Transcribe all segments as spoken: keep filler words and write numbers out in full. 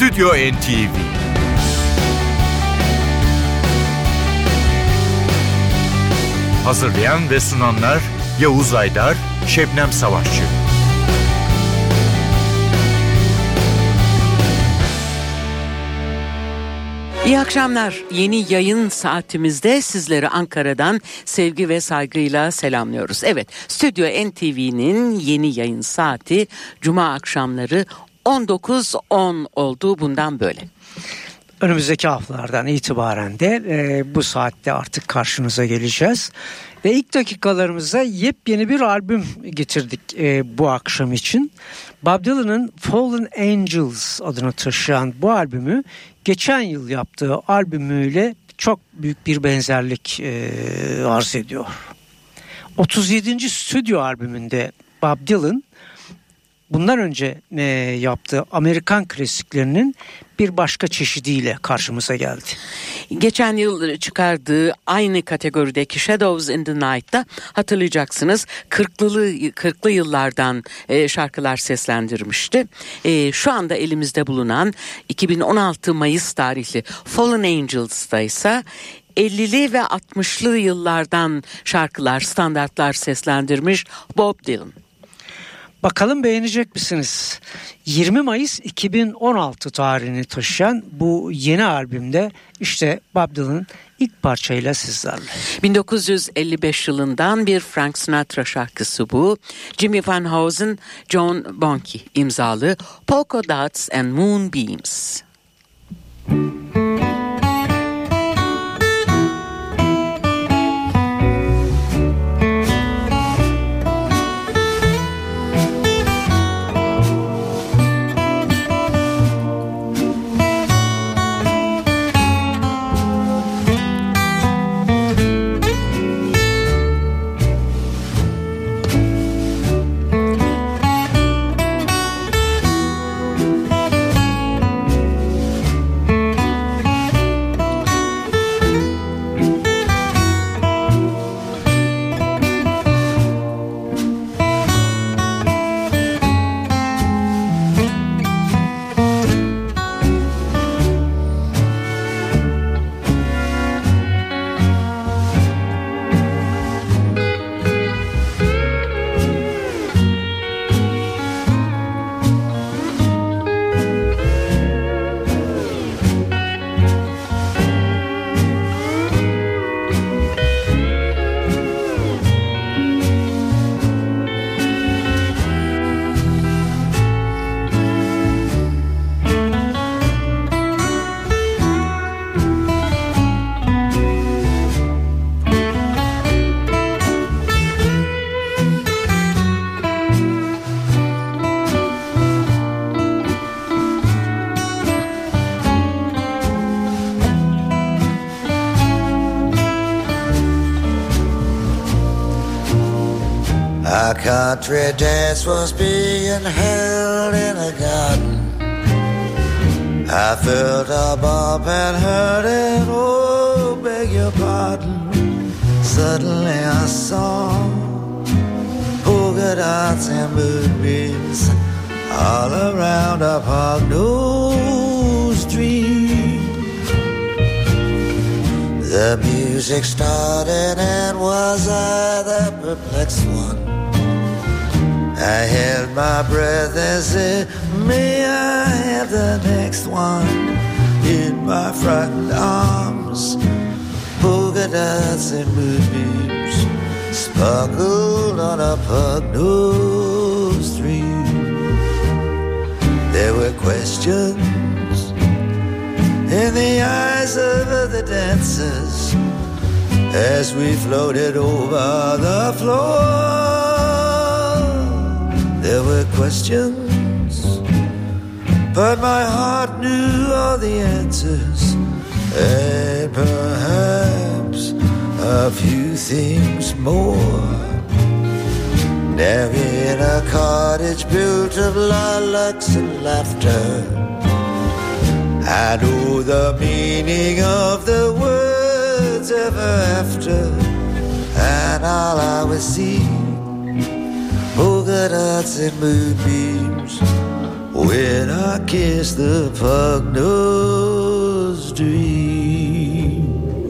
Stüdyo N T V. Hazırlayan ve sunanlar Yavuz Aydar, Şebnem Savaşçı. İyi akşamlar. Yeni yayın saatimizde sizleri Ankara'dan sevgi ve saygıyla selamlıyoruz. Evet, Stüdyo N T V'nin yeni yayın saati Cuma akşamları on dokuz on oldu bundan böyle. Önümüzdeki haftalardan itibaren de e, bu saatte artık karşınıza geleceğiz. Ve ilk dakikalarımızda yepyeni bir albüm getirdik e, bu akşam için. Bob Dylan'ın Fallen Angels adını taşıyan bu albümü geçen yıl yaptığı albümüyle çok büyük bir benzerlik e, arz ediyor. otuz yedinci stüdyo albümünde Bob Dylan bundan önce e, yaptığı Amerikan klasiklerinin bir başka çeşidiyle karşımıza geldi. Geçen yıl çıkardığı aynı kategorideki Shadows in the Night'ta hatırlayacaksınız kırklı kırklı yıllardan e, şarkılar seslendirmişti. E, şu anda elimizde bulunan iki bin on altı Mayıs tarihli Fallen Angels'ta ise ellili ve altmışlı yıllardan şarkılar, standartlar seslendirmiş Bob Dylan. Bakalım beğenecek misiniz? yirmi Mayıs iki bin on altı tarihini taşıyan bu yeni albümde işte Bob Dylan'ın ilk parçayla sizlerle. bin dokuz yüz elli beş yılından bir Frank Sinatra şarkısı bu. Jimmy Van Heusen, John Bonham imzalı Polka Dots and Moonbeams. Our country dance was being held in a garden. I felt a bump and heard it, oh, beg your pardon. Suddenly I saw polka dots and moonbeams all around a Pognose street. The music started and was I the perplexed one? I held my breath and said, may I have the next one? In my frightened arms, polka dots and moonbeams sparkled on a Pognose street. There were questions in the eyes of the dancers as we floated over the floor. There were questions, but my heart knew all the answers, and perhaps a few things more. Now in a cottage built of lilacs and laughter, I know the meaning of the words ever after, and all I was seeing polka dots and moonbeams when I I kiss the pug-nosed dream.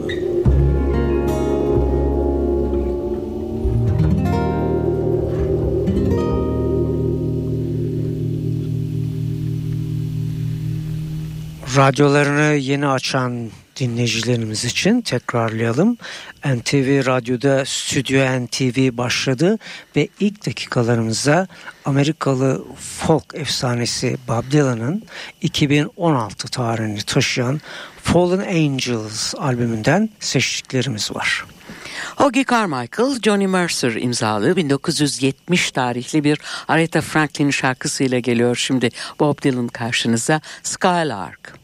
Radyolarını yeni açan dinleyicilerimiz için tekrarlayalım. N T V Radyo'da Stüdyo N T V başladı ve ilk dakikalarımızda Amerikalı folk efsanesi Bob Dylan'ın iki bin on altı tarihini taşıyan Fallen Angels albümünden seçtiklerimiz var. Hoagy Carmichael, Johnny Mercer imzalı bin dokuz yüz yetmiş tarihli bir Aretha Franklin şarkısıyla geliyor şimdi Bob Dylan karşınıza, Skylark.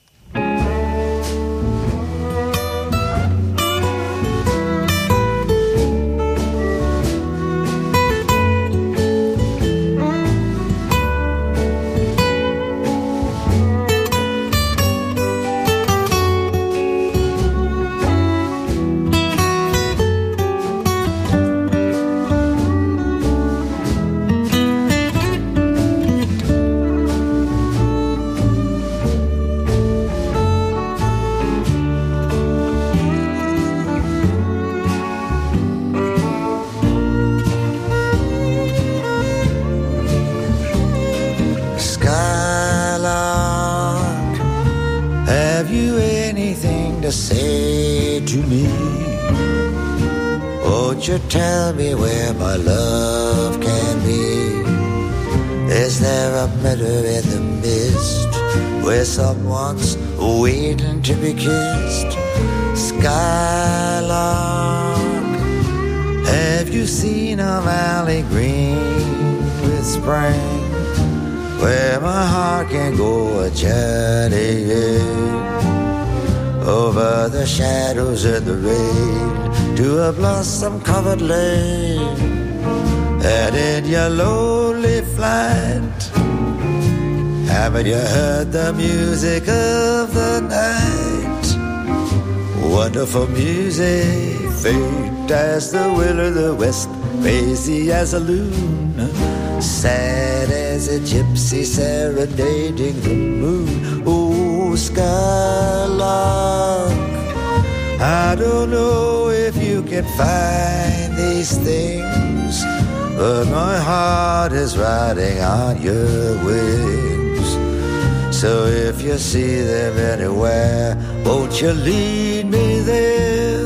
Say to me, won't you tell me where my love can be? Is there a meadow in the mist where someone's waiting to be kissed? Skylark, have you seen a valley green with spring where my heart can go a journeying over the shadows and the rain to a blossom-covered lane? And in your lonely flight, haven't you heard the music of the night? Wonderful music, faint as the will of the west, crazy as a loon, sad as a gypsy serenading the moon. Oh, Skylark, I don't know if you can find these things, but my heart is riding on your wings. So if you see them anywhere, won't you lead me there?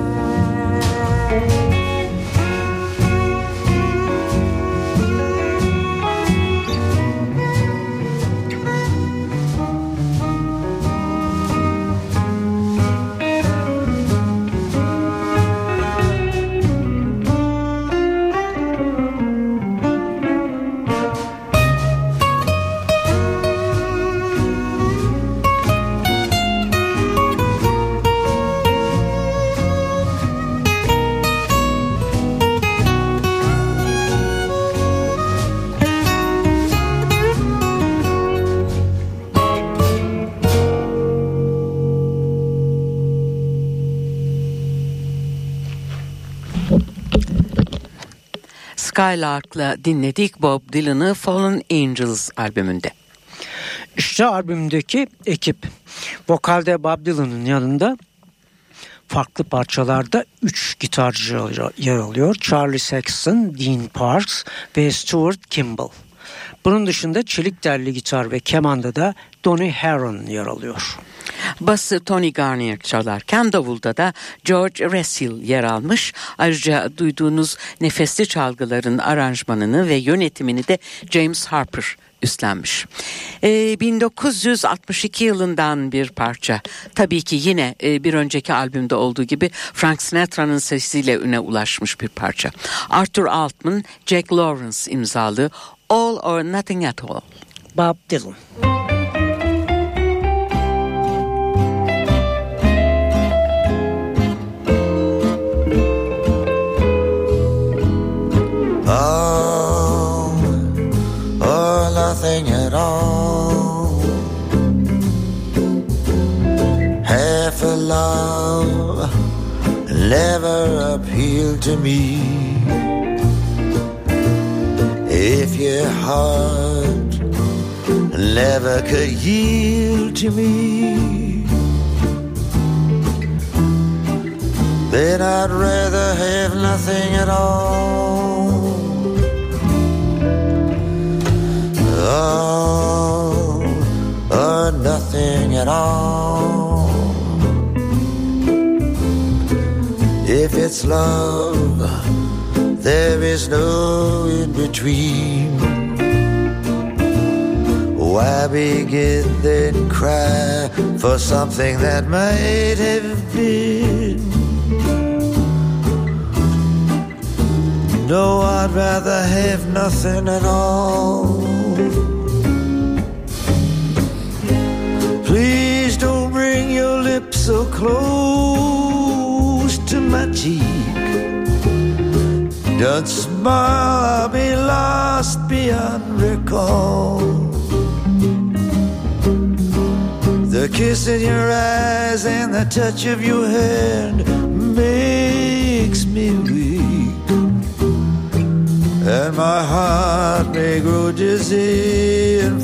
Skylark'la dinledik Bob Dylan'ı Fallen Angels albümünde. İşte albümdeki ekip. Vokalde Bob Dylan'ın yanında farklı parçalarda üç gitarcı yer alıyor. Charlie Sexton, Dean Parks ve Stuart Kimball. Bunun dışında çelik telli gitar ve kemanda da Donny Heron yer alıyor. Bası Tony Garnier çalarken davulda da George Russell yer almış. Ayrıca duyduğunuz nefesli çalgıların aranjmanını ve yönetimini de James Harper üstlenmiş. Ee, bin dokuz yüz altmış iki yılından bir parça. Tabii ki yine e, bir önceki albümde olduğu gibi Frank Sinatra'nın sesiyle üne ulaşmış bir parça. Arthur Altman, Jack Lawrence imzalı All or Nothing at All. Bob Dylan. All or nothing at all. Half a love never appealed to me. If your heart never could yield to me, then I'd rather have nothing at all. Oh, or nothing at all. If it's love, there is no in between. Why begin then cry for something that might have been? No, I'd rather have nothing at all. Please don't bring your lips so close to my cheek. Don't smile, I'll be lost beyond recall. The kiss in your eyes and the touch of your hand makes me weak, and my heart may grow dizzy and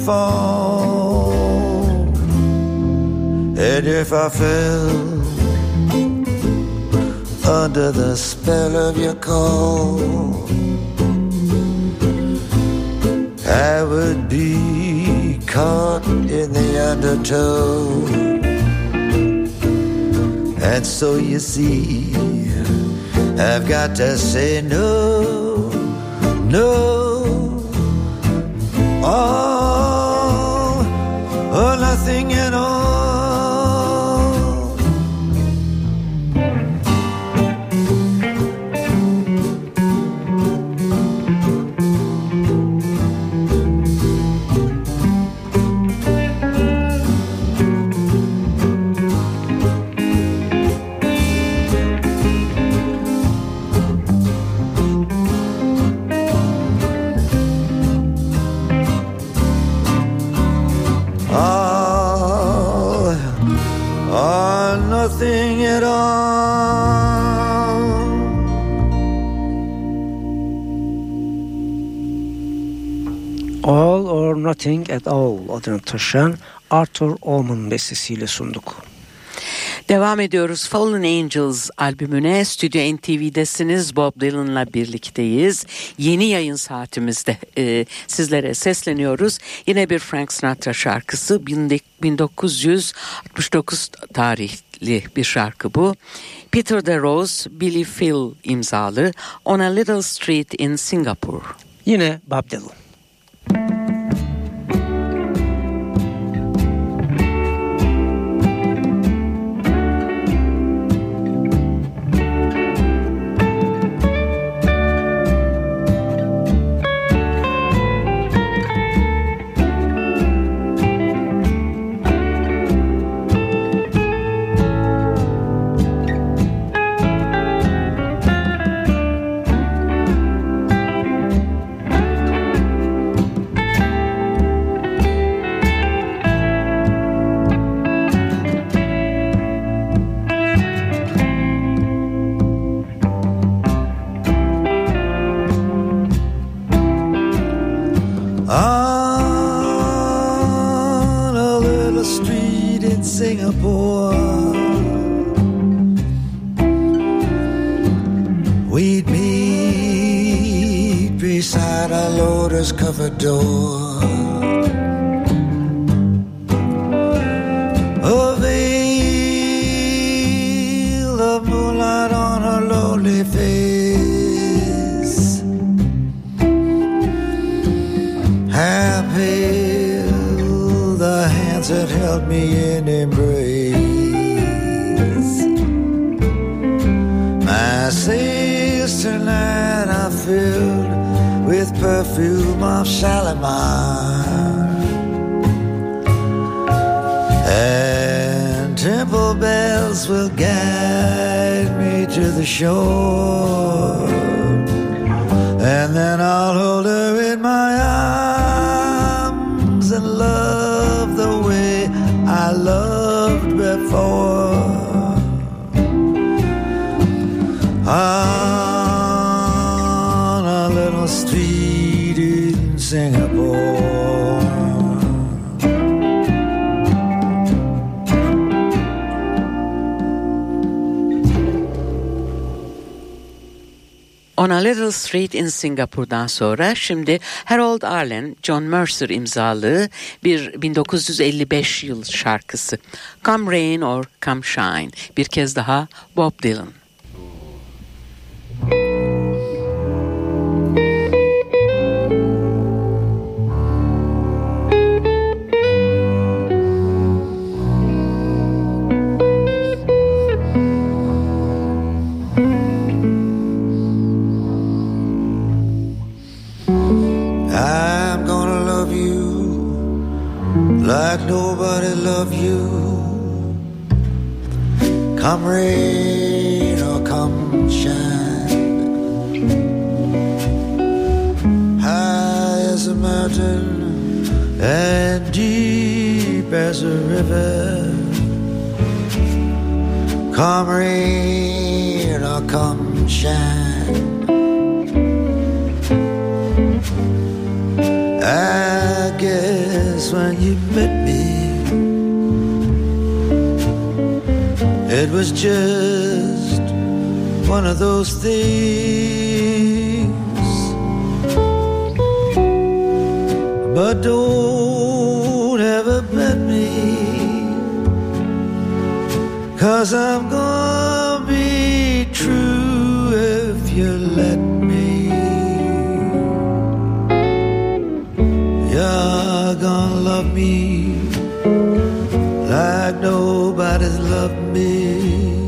fall. And if I fell under the spell of your call, I would be caught in the undertow. And so you see, I've got to say no, no, all or nothing at all. Nothing at all. All or Nothing at All adını taşıyan Arthur Allman bestesiyle sunduk. Devam ediyoruz. Fallen Angels albümüne. Stüdyo N T V'desiniz. Bob Dylan'la birlikteyiz. Yeni yayın saatimizde e, sizlere sesleniyoruz. Yine bir Frank Sinatra şarkısı. bin dokuz yüz altmış dokuz tarihli bir şarkı bu. Peter DeRose, Billy Phil imzalı On a Little Street in Singapore. Yine Bob Dylan. Singapore, we'd meet beside a lotus-covered door. A veil of moonlight on her lonely face. How pale the hands that held me in embrace. My sails tonight are filled with perfume of Shalimar, and temple bells will guide me to the shore, and then I'll hold her in my arms and love the way I loved before. On a little street in Singapore. On a Little Street in Singapore'dan sonra şimdi Harold Arlen, John Mercer imzalı bir bin dokuz yüz elli beş yıl şarkısı. Come Rain or Come Shine. Bir kez daha Bob Dylan. Like nobody loved you. Come rain or come shine. High as a mountain and deep as a river. Come rain or come shine. I guess when you met me, it was just one of those things. But don't ever bet me, 'cause I'm gonna be true if you let me. You're gonna love me like nobody's loved me.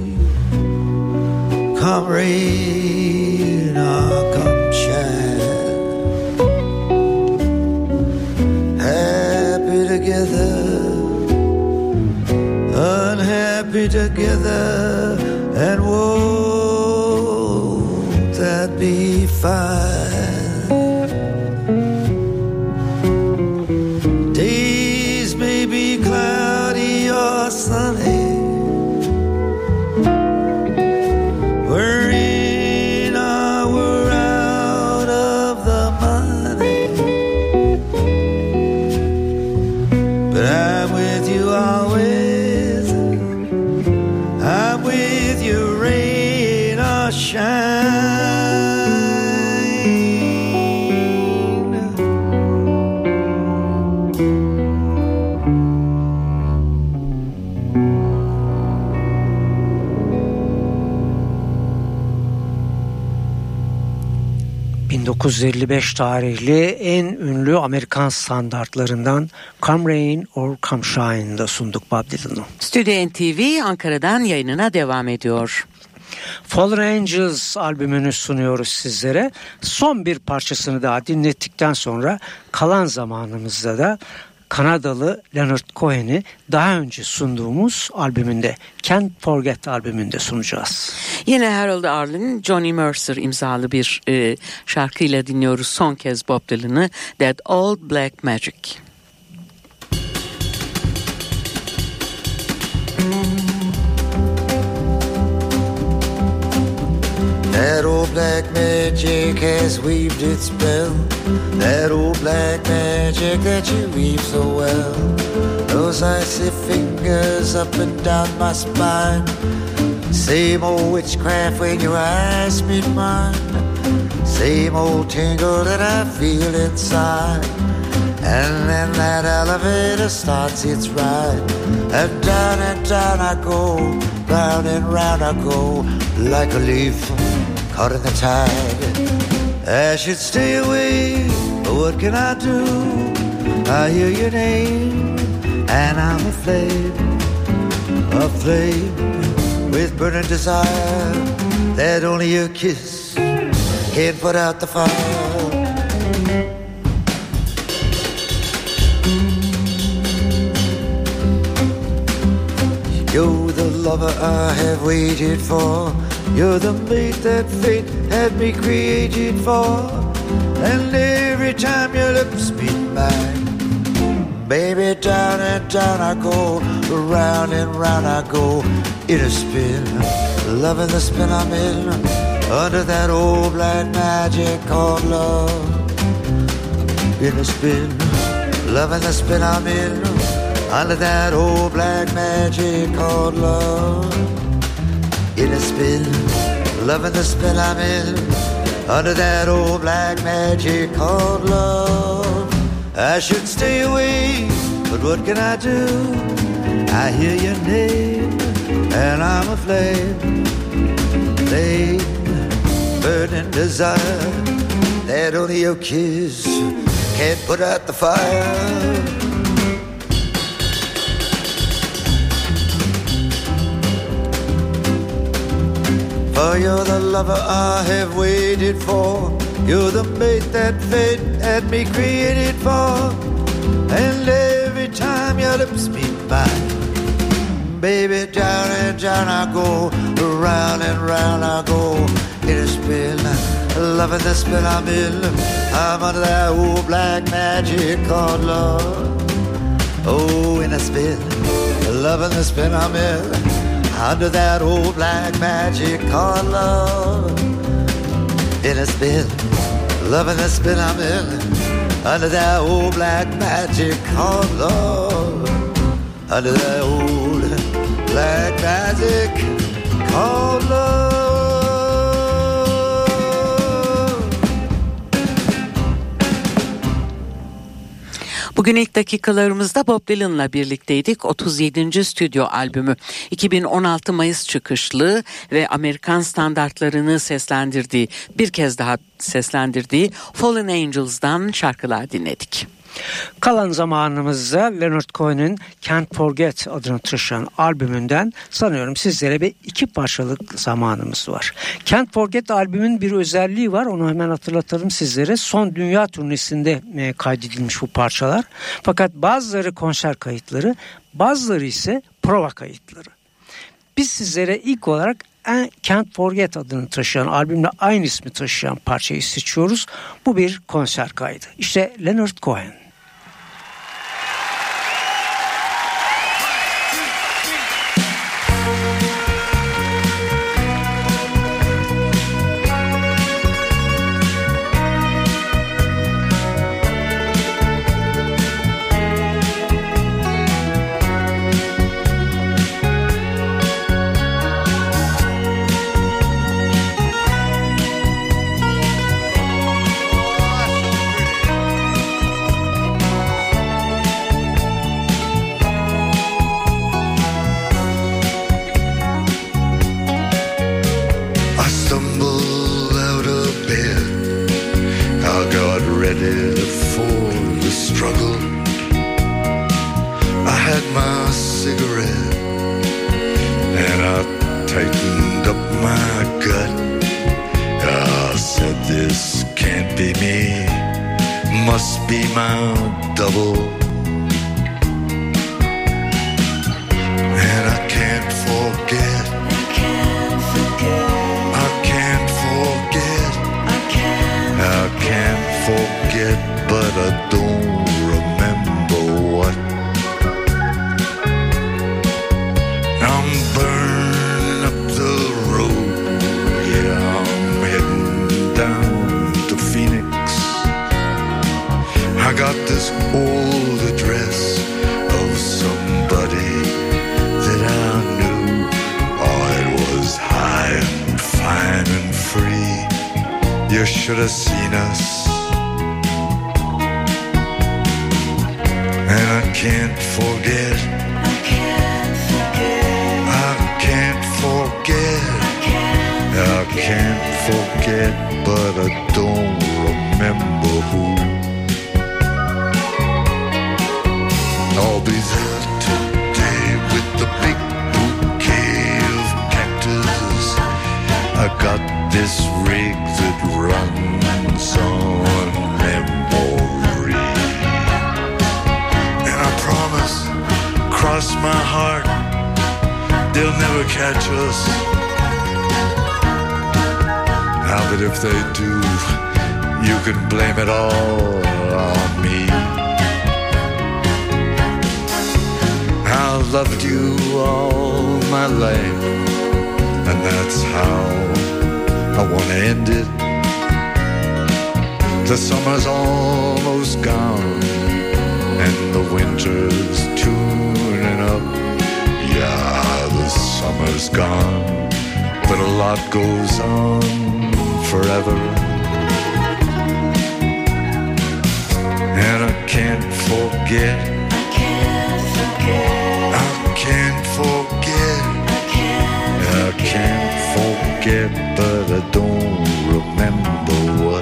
Come rain or come shine. Happy together, unhappy together, and won't that be fine? Sunny, we're in or we're out of the money, but I'm with you always. I'm with you, rain or shine. bin dokuz yüz elli beş tarihli en ünlü Amerikan standartlarından Come Rain or Come Shine'da sunduk Bob Dylan'ı. Stüdyo N T V Ankara'dan yayınına devam ediyor. Fallen Angels albümünü sunuyoruz sizlere. Son bir parçasını daha dinlettikten sonra kalan zamanımızda da Kanadalı Leonard Cohen'i daha önce sunduğumuz albümünde, Can't Forget albümünde sunacağız. Yine Harold Arlen, Johnny Mercer imzalı bir e, şarkıyla dinliyoruz son kez Bob Dylan'ı, That Old Black Magic. That old black magic has weaved its spell. That old black magic that you weave so well. Those icy fingers up and down my spine. Same old witchcraft when your eyes meet mine. Same old tingle that I feel inside. And then that elevator starts its ride. And down and down I go, round and round I go, like a leaf caught in the tide. I should stay away, but what can I do? I hear your name, and I'm aflame, aflame with burning desire that only your kiss can put out the fire. You're the lover I have waited for. You're the mate that fate had me created for. And every time your lips meet mine, baby, down and down I go, round and round I go, in a spin, loving the spin I'm in, under that old black magic called love. In a spin, loving the spin I'm in, under that old black magic called love. In a spin, loving the spin I'm in, under that old black magic called love. I should stay away, but what can I do? I hear your name, and I'm aflame. Flame, burning desire, that only your kiss can't put out the fire. For you're the lover I have waited for. You're the mate that fate had me created for. And every time your lips meet mine, baby, down and down I go, round and round I go. In a spin, loving the spin I'm in. I'm under that old black magic called love. Oh, in a spin, loving the spin I'm in. Under that old black magic called love. In a spin, loving the spin I'm in. Under that old black magic called love. Under that old black magic called love. Bugün ilk dakikalarımızda Bob Dylan'la birlikteydik. otuz yedinci stüdyo albümü iki bin on altı Mayıs çıkışlı ve Amerikan standartlarını seslendirdiği, bir kez daha seslendirdiği Fallen Angels'dan şarkılar dinledik. Kalan zamanımızda Leonard Cohen'in Can't Forget adını taşıyan albümünden sanıyorum sizlere bir iki parçalık zamanımız var. Can't Forget albümün bir özelliği var, onu hemen hatırlatalım sizlere. Son dünya turnesinde kaydedilmiş bu parçalar. Fakat bazıları konser kayıtları, bazıları ise prova kayıtları. Biz sizlere ilk olarak Can't Forget adını taşıyan, albümle aynı ismi taşıyan parçayı seçiyoruz. Bu bir konser kaydı. İşte Leonard Cohen. You should have seen us. And I can't forget. I can't forget. I can't forget. I can't forget, but I don't remember who. I'll be there today with the big bouquet of cactus. I got this rig that runs on memory. And I promise, cross my heart, they'll never catch us. Now, but if they do, you can blame it all on me. I loved you all my life, and that's how I wanna end it. The summer's almost gone, and the winter's tuning up. Yeah, the summer's gone, but a lot goes on forever and I can't forget. I can't forget. I can't forget. I can't forget, but I don't remember what.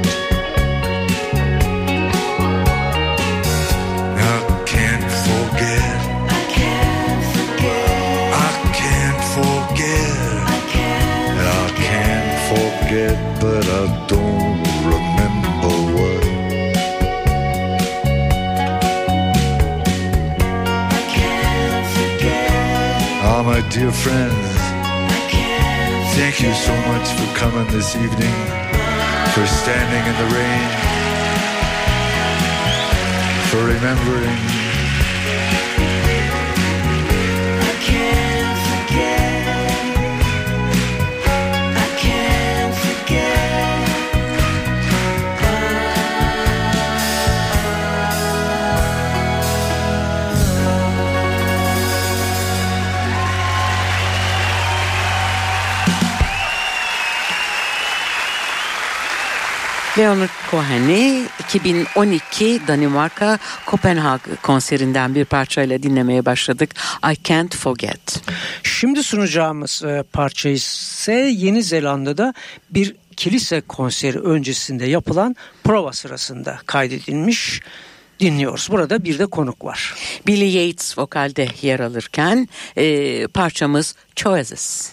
I can't forget. I can't forget. I can't forget. I can't. I can't forget, but I don't remember what. I can't forget. Ah, my dear friends, I can't thank you so much for coming this evening, for standing in the rain, for remembering. I can't forget. I can't forget. Leonard Cohen'i iki bin on iki Danimarka Kopenhag konserinden bir parçayla dinlemeye başladık. I Can't Forget. Şimdi sunacağımız e, parça ise Yeni Zelanda'da bir kilise konseri öncesinde yapılan prova sırasında kaydedilmiş. Dinliyoruz. Burada bir de konuk var. Billy Yates vokalde yer alırken e, parçamız Choices.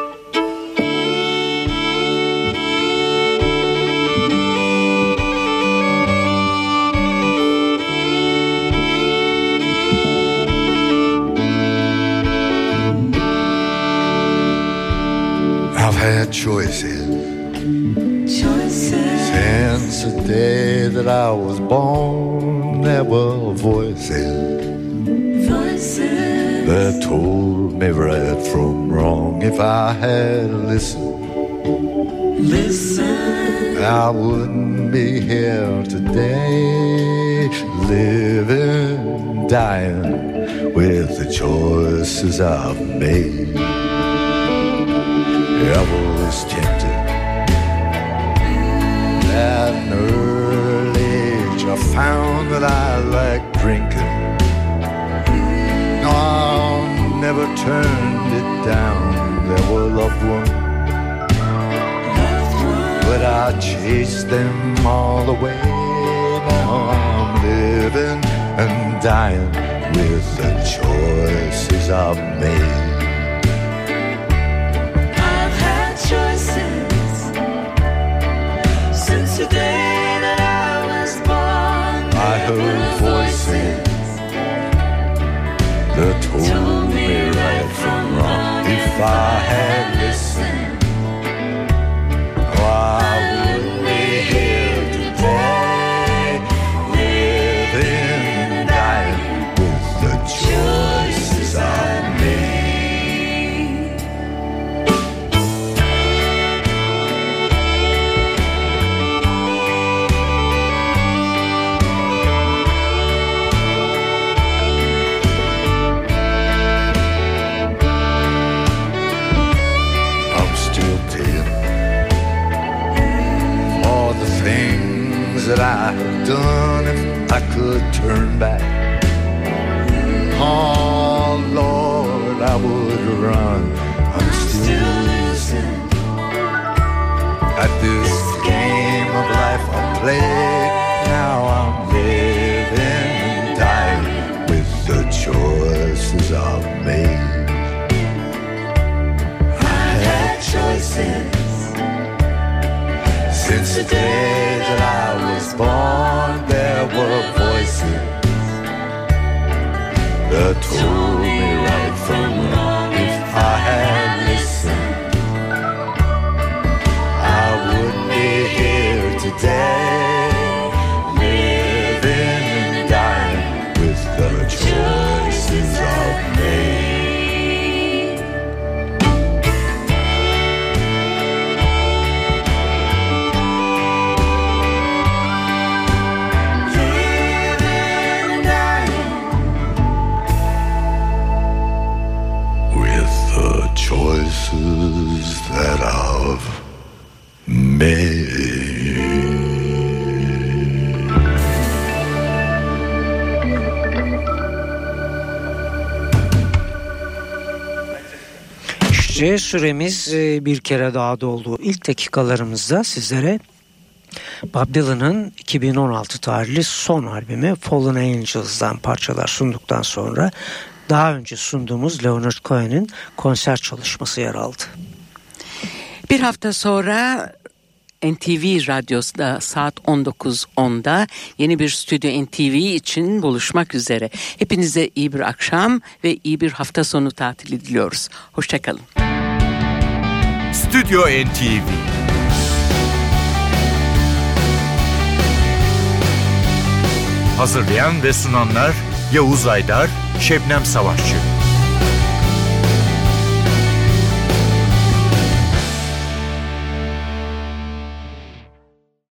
I've had choices Choices. since the day that I was born. There were voices Voices. that told me right from wrong. If I had listened, Listen. I wouldn't be here today, living, dying with the choices I've made. I was tempted at an early age. I found that I liked drinking. No, I never turned it down. There were loved ones, but I chased them all away. Now I'm living and dying with the choices I've made. I've had choices since the day that I was born. I heard voices that told me right from wrong. If I had listened, oh, I wouldn't be here today, living and dying with the choices I've made. I'm still paying for the things that I have done. If I could turn back, oh Lord, I would run. I'm still losing at this game of life I play. Now I'm living and dying with the choices I've made. I had choices since the day that I was born. There were voices that told me right from wrong. If I had listened, I wouldn't be here today, living and dying with the choices I've made. Living and dying. With the choices that I've made. İşte süremiz e, bir kere daha doldu. İlk dakikalarımızda sizlere Bob Dylan'ın iki bin on altı tarihli son albümü Fallen Angels'dan parçalar sunduktan sonra daha önce sunduğumuz Leonard Cohen'in konser çalışması yer aldı. Bir hafta sonra N T V Radyosu'da saat on dokuz onda yeni bir Stüdyo N T V için buluşmak üzere. Hepinize iyi bir akşam ve iyi bir hafta sonu tatili diliyoruz. Hoşçakalın. Stüdyo N T V Hazırlayan ve sunanlar Yavuz Aydar, Şebnem Savaşçı.